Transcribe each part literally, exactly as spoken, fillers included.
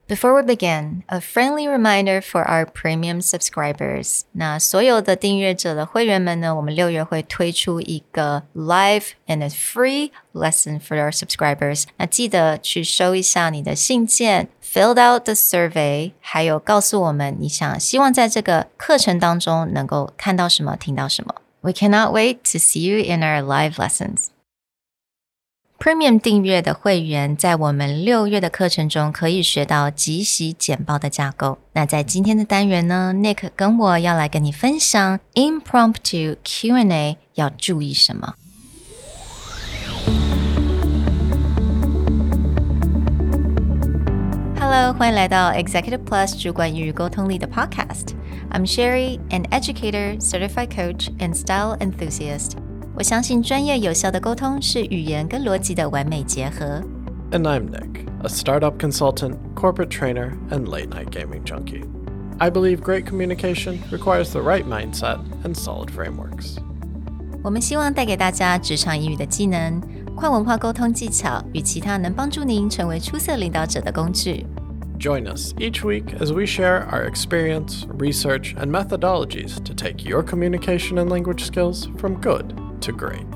Before we begin, a friendly reminder for our premium subscribers. 那所有的订阅者的会员们呢，我们六月会推出一个 live and a free lesson for our subscribers. 那记得去收一下你的信件 ，filled out the survey， 还有告诉我们你想希望在这个课程当中能够看到什么、听到什么。We cannot wait to see you in our live lessons.Premium 订阅的会员在我们六月的课程中可以学到即席简报的架构。那在今天的单元呢 Nick 跟我要来跟你分享 Impromptu Q and A 要注意什么。Hello， 欢迎来到 Executive Plus 主管与沟通力的 Podcast。I'm Sherry, an educator, certified coach, and style enthusiast.我相信专业有效的沟通是语言跟逻辑的完美结合。 And I'm Nick, a startup consultant, corporate trainer, and late-night gaming junkie. I believe great communication requires the right mindset and solid frameworks. 我们希望带给大家职场英语的技能、跨文化沟通技巧与其他能帮助您成为出色领导者的工具。 Join us each week as we share our experience, research, and methodologies to take your communication and language skills from good.to great.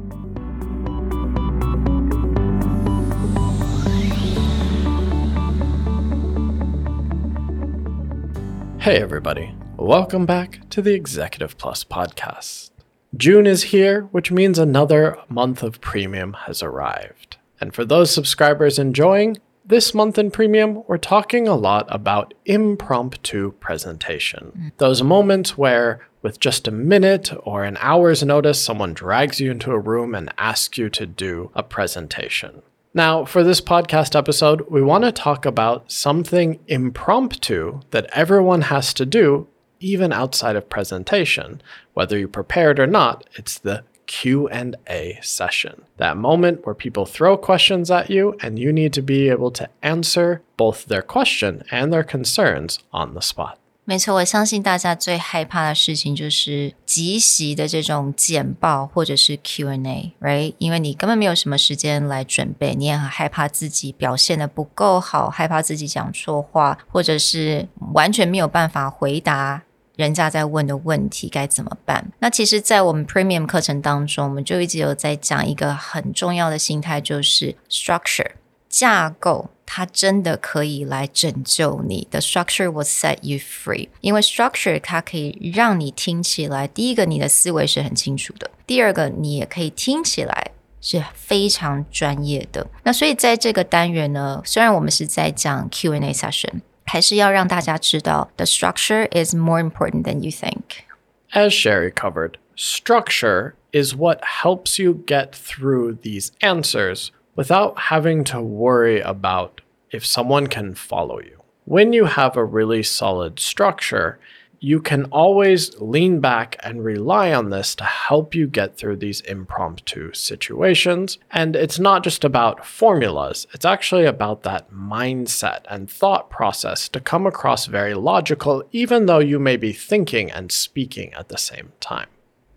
Hey everybody, welcome back to the Executive Plus podcast. June is here, which means another month of premium has arrived. And for those subscribers enjoying, this month in Premium, we're talking a lot about impromptu presentation. Mm. Those moments where, with just a minute or an hour's notice, someone drags you into a room and asks you to do a presentation. Now, for this podcast episode, we want to talk about something impromptu that everyone has to do, even outside of presentation. Whether you prepared or not, it's the Q and A session. That moment where people throw questions at you and you need to be able to answer both their question and their concerns on the spot. 没错，我相信大家最害怕的事情就是即席的这种简报或者是 Q and A, right? 因为你根本没有什么时间来准备，你也很害怕自己表现得不够好，害怕自己讲错话，或者是完全没有办法回答人家在问的问题该怎么办。那其实在我们 Premium 课程当中，我们就一直有在讲一个很重要的心态，就是 structure 架构，它真的可以来拯救你。 The structure will set you free. 因为 structure 它可以让你听起来，第一个你的思维是很清楚的，第二个你也可以听起来是非常专业的。那所以在这个单元呢，虽然我们是在讲 Q and A session，还是要让大家知道 the structure is more important than you think. As Sherry covered, structure is what helps you get through these answers without having to worry about if someone can follow you. When you have a really solid structure, you can always lean back and rely on this to help you get through these impromptu situations. And it's not just about formulas, it's actually about that mindset and thought process to come across very logical, even though you may be thinking and speaking at the same time.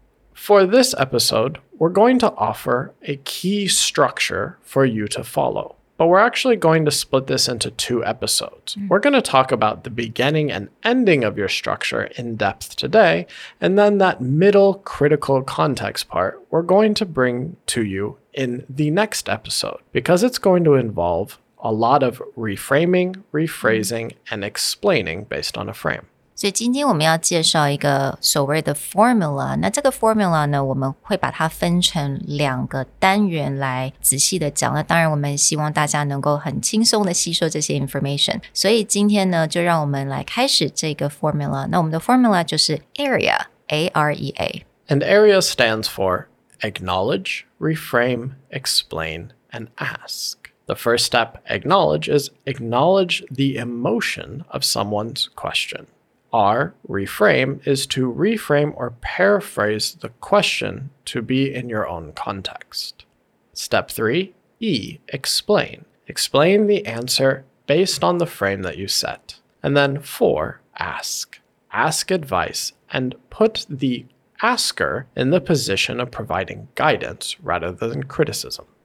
For this episode, we're going to offer a key structure for you to follow. But we're actually going to split this into two episodes. Mm. We're going to talk about the beginning and ending of your structure in depth today, and then that middle critical context part we're going to bring to you in the next episode, because it's going to involve a lot of reframing, rephrasing, and explaining based on a frame. 所以今天我们要介绍一个所谓的 formula， 那这个 formula 呢，我们会把它分成两个单元来仔细的讲。那当然我们希望大家能够很轻松的吸收这些 information， 所以今天呢，就让我们来开始这个 formula。 那我们的 formula 就是 area, A R E A. And area stands for acknowledge, reframe, explain, and ask. The first step, acknowledge, is acknowledge the emotion of someone's question.R, reframe, is to reframe or paraphrase the question to be in your own context. Step three, E, explain. Explain the answer based on the frame that you set. And then four, ask. Ask advice and put the asker in the position of providing guidance rather than criticism.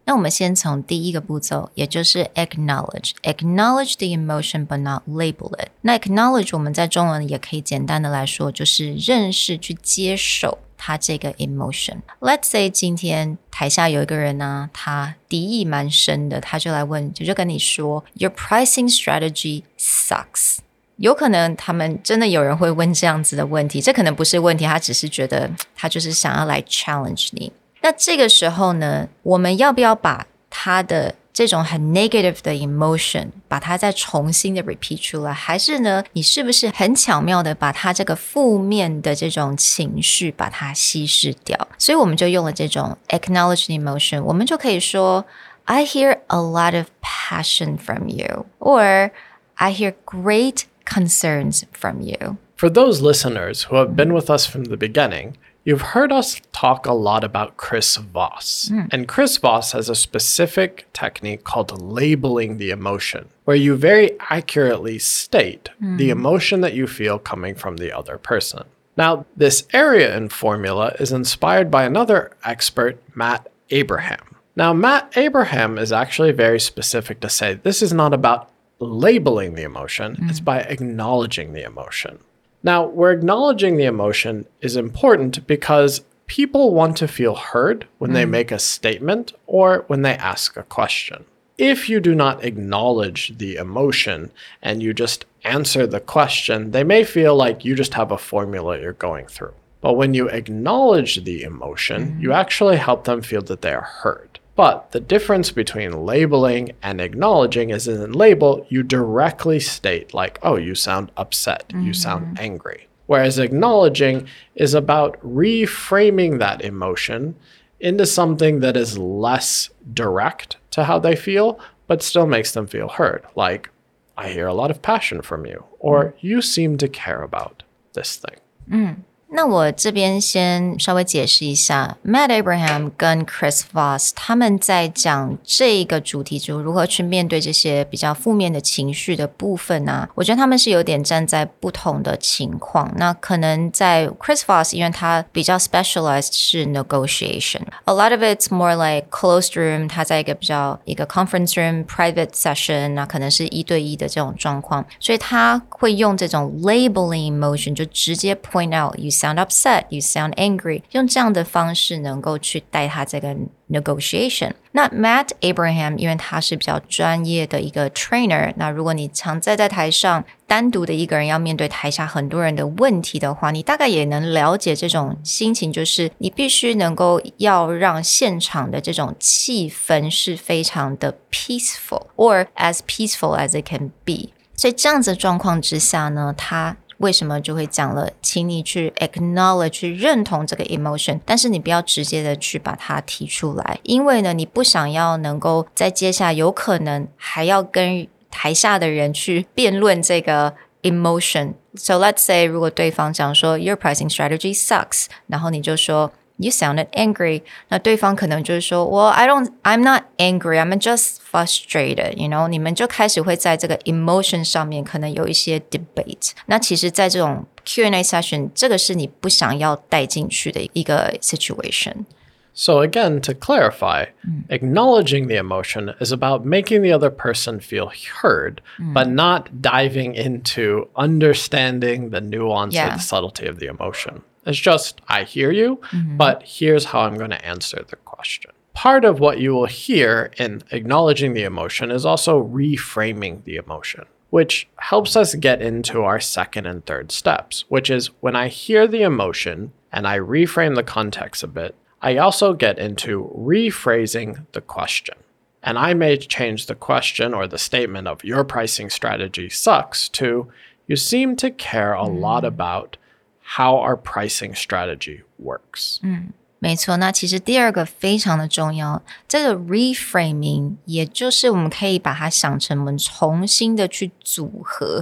那我们先从第一个步骤，也就是 acknowledge acknowledge the emotion but not label it。 那 acknowledge 我们在中文也可以简单的来说，就是认识去接受它这个 emotion。 Let's say 今天台下有一个人呢、啊，他敌意蛮深的，他就来问，就就跟你说 Your pricing strategy sucks。有可能他们真的有人会问这样子的问题，这可能不是问题，他只是觉得他就是想要来 challenge 你。那这个时候呢，我们要不要把他的这种很 negative 的 emotion 把它再重新的 repeat 出来，还是呢，你是不是很巧妙的把它这个负面的这种情绪把它稀释掉？所以我们就用了这种 acknowledge the emotion， 我们就可以说 I hear a lot of passion from you, or I hear great concerns from you. For those listeners who have been with us from the beginning, you've heard us talk a lot about Chris Voss. Mm. And Chris Voss has a specific technique called labeling the emotion, where you very accurately state mm. the emotion that you feel coming from the other person. Now, this area in formula is inspired by another expert, Matt Abraham. Now, Matt Abraham is actually very specific to say this is not about labeling the emotion, mm. it's by acknowledging the emotion. Now, where acknowledging the emotion is important because people want to feel heard when mm. they make a statement or when they ask a question. If you do not acknowledge the emotion and you just answer the question, they may feel like you just have a formula you're going through. But when you acknowledge the emotion, mm. you actually help them feel that they are heard. But the difference between labeling and acknowledging is in label, you directly state like, oh, you sound upset, mm-hmm. you sound angry. Whereas acknowledging is about reframing that emotion into something that is less direct to how they feel, but still makes them feel heard. Like, I hear a lot of passion from you, or mm. you seem to care about this thing. Mm. 那我这边先稍微解释一下 Matt Abraham 跟 Chris Voss 他们在讲这个主题，就如何去面对这些比较负面的情绪的部分啊，我觉得他们是有点站在不同的情况。那可能在 Chris Voss 因为他比较 specialized 是 negotiation, a lot of it's more like closed room, 他在一个比较一个 conference room private session, 那可能是一对一的这种状况，所以他会用这种 labeling emotion 就直接 point out you sound upset, you sound angry, 用这样的方式能够去带他这个 negotiation。 那 Matt Abraham 因为他是比较专业的一个 trainer， 那如果你常在在台上单独的一个人要面对台下很多人的问题的话，你大概也能了解这种心情，就是你必须能够要让现场的这种气氛是非常的 peaceful, or as peaceful as it can be。 所以这样子的状况之下呢，他为什么就会讲了，请你去 acknowledge 去认同这个 emotion， 但是你不要直接的去把它提出来，因为呢你不想要能够在接下来有可能还要跟台下的人去辩论这个 emotion。 So let's say 如果对方讲说 your pricing strategy sucks， 然后你就说You sounded angry. 那对方可能就是说 Well, I don't, I'm not angry. I'm just frustrated. You know, 你们就开始会在这个 emotion 上面可能有一些 debate. 那其实在这种 Q and A session, 这个是你不想要带进去的一个 situation. So again, to clarify, mm. acknowledging the emotion is about making the other person feel heard, mm. but not diving into understanding the nuance yeah. or the subtlety of the emotion. It's just, I hear you, mm-hmm. but here's how I'm going to answer the question. Part of what you will hear in acknowledging the emotion is also reframing the emotion, which helps us get into our second and third steps, which is when I hear the emotion and I reframe the context a bit, I also get into rephrasing the question. And I may change the question or the statement of your pricing strategy sucks to, you seem to care a mm. lot about how our pricing strategy works. 嗯，没错。那其实第二个非常的重要，这个 reframing 也就是我们可以把它想成我们重新的去组合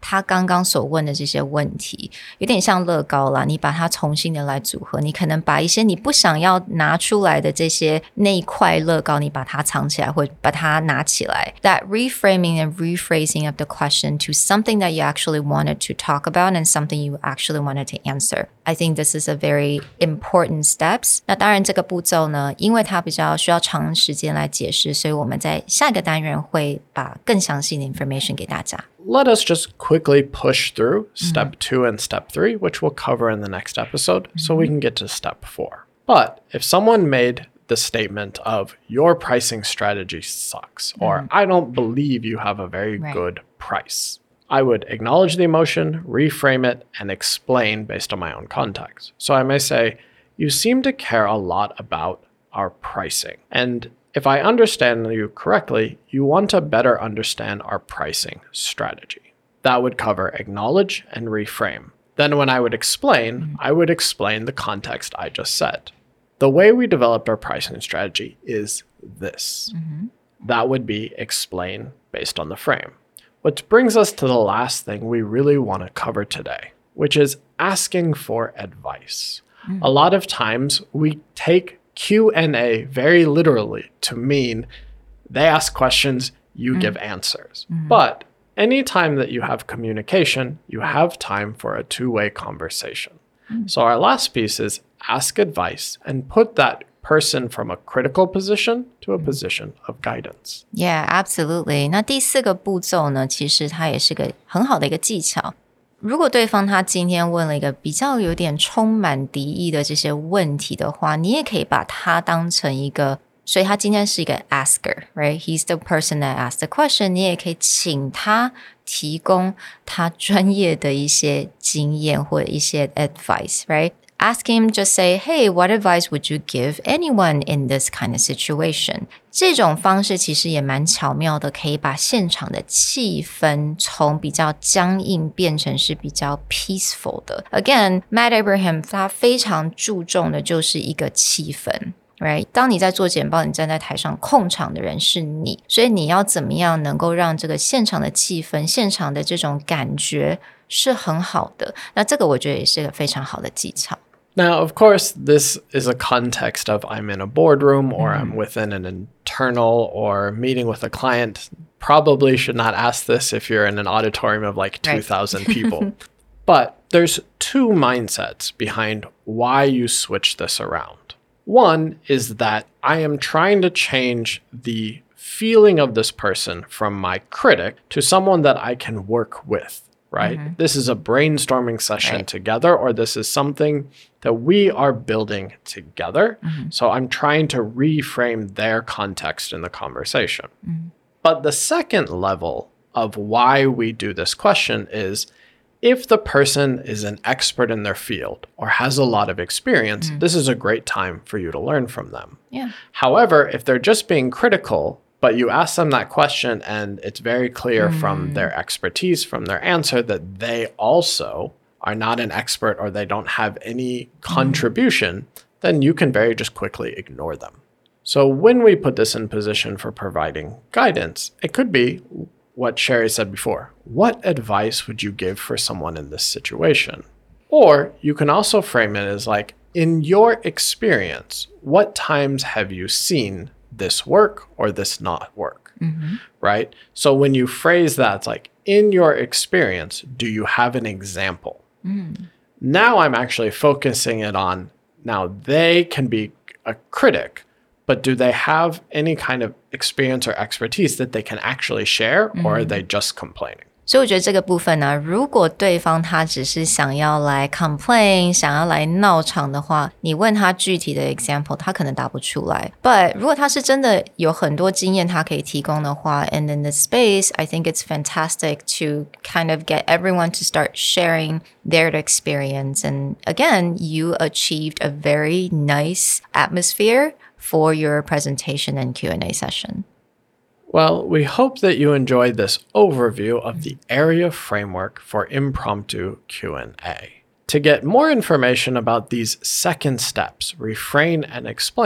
他刚刚所问的这些问题，有点像乐高啦，你把它重新的来组合，你可能把一些你不想要拿出来的这些那一块乐高，你把它藏起来，或者把它拿起来。That reframing and rephrasing of the question to something that you actually wanted to talk about and something you actually wanted to answer. I think this is a very important steps. 那当然这个步骤呢，因为它比较需要长时间来解释，所以我们在下一个单元会把更详细的 information 给大家。 Let us just quickly push through step two and step three, which we'll cover in the next episode, so we can get to step four. But if someone made the statement of your pricing strategy sucks, or I don't believe you have a very Right. good price, I would acknowledge the emotion, reframe it, and explain based on my own context. So I may say, you seem to care a lot about our pricing. And if I understand you correctly, you want to better understand our pricing strategy. That would cover acknowledge and reframe. Then when I would explain, mm-hmm. I would explain the context I just said. The way we developed our pricing strategy is this. Mm-hmm. That would be explain based on the frame. Which brings us to the last thing we really want to cover today, which is asking for advice. Mm-hmm. A lot of times we take Q and A very literally to mean they ask questions, you mm-hmm. give answers. Mm-hmm. But anytime that you have communication, you have time for a two-way conversation. Mm-hmm. So our last piece is ask advice and put that person from a critical position to a position of guidance. Yeah, absolutely. 那第四个步骤呢，其实它也是个很好的一个技巧。如果对方他今天问了一个比较有点充满敌意的这些问题的话，你也可以把它当成一个，所以他今天是一个 asker, right? He's the person that asked the question. 你也可以请他提供他专业的一些经验或者一些 advice, right?Ask him, just say, hey, what advice would you give anyone in this kind of situation? 这种方式其实也蛮巧妙的，可以把现场的气氛从比较僵硬变成是比较 peaceful 的。Again, Matt Abraham 他非常注重的就是一个气氛。Right? 当你在做简报，你站在台上控场的人是你，所以你要怎么样能够让这个现场的气氛、现场的这种感觉是很好的。那这个我觉得也是个非常好的技巧。 Now, of course, this is a context of I'm in a boardroom or mm-hmm. I'm within an internal or meeting with a client. Probably should not ask this if you're in an auditorium of like two thousand right. people. But there's two mindsets behind why you switch this around. One is that I am trying to change the feeling of this person from my critic to someone that I can work with.Right? Mm-hmm. This is a brainstorming session right. together, or this is something that we are building together. Mm-hmm. So I'm trying to reframe their context in the conversation. Mm-hmm. But the second level of why we do this question is if the person is an expert in their field or has a lot of experience, mm-hmm. this is a great time for you to learn from them. Yeah. However, if they're just being critical,But you ask them that question and it's very clear mm. from their expertise, from their answer, that they also are not an expert or they don't have any contribution, mm. then you can very just quickly ignore them. So when we put this in position for providing guidance, it could be what Sherry said before. What advice would you give for someone in this situation? Or you can also frame it as like, in your experience, what times have you seen this work or this not work, mm-hmm. right? So when you phrase that, it's like, in your experience, do you have an example? Mm. Now I'm actually focusing it on, now they can be a critic, but do they have any kind of experience or expertise that they can actually share, mm-hmm. or are they just complaining? 所以我觉得这个部分呢，如果对方他只是想要来 complain 想要来闹场的话，你问他具体的 example 他可能答不出来。 But 如果他是真的有很多经验他可以提供的话， and in this space I think it's fantastic to kind of get everyone to start sharing their experience. And again, you achieved a very nice atmosphere for your presentation and Q and A session.Well, we hope that you enjoyed this overview of the area framework for impromptu Q and A. To get more information about these second steps, refrain and explain,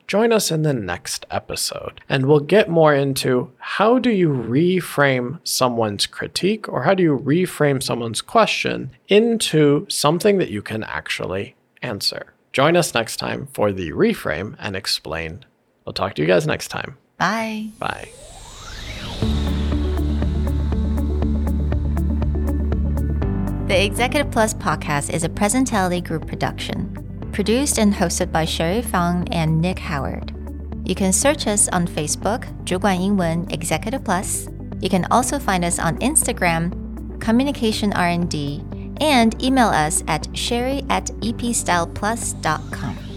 join us in the next episode, and we'll get more into how do you reframe someone's critique or how do you reframe someone's question into something that you can actually answer. Join us next time for the Reframe and Explain. We'll talk to you guys next time. Bye. Bye. The Executive Plus podcast is a Presentality Group production, produced and hosted by Sherry Fang and Nick Howard. You can search us on Facebook, 主管英文 Executive Plus. You can also find us on Instagram, Communication R and D, and email us at sherry at epstyleplus dot com.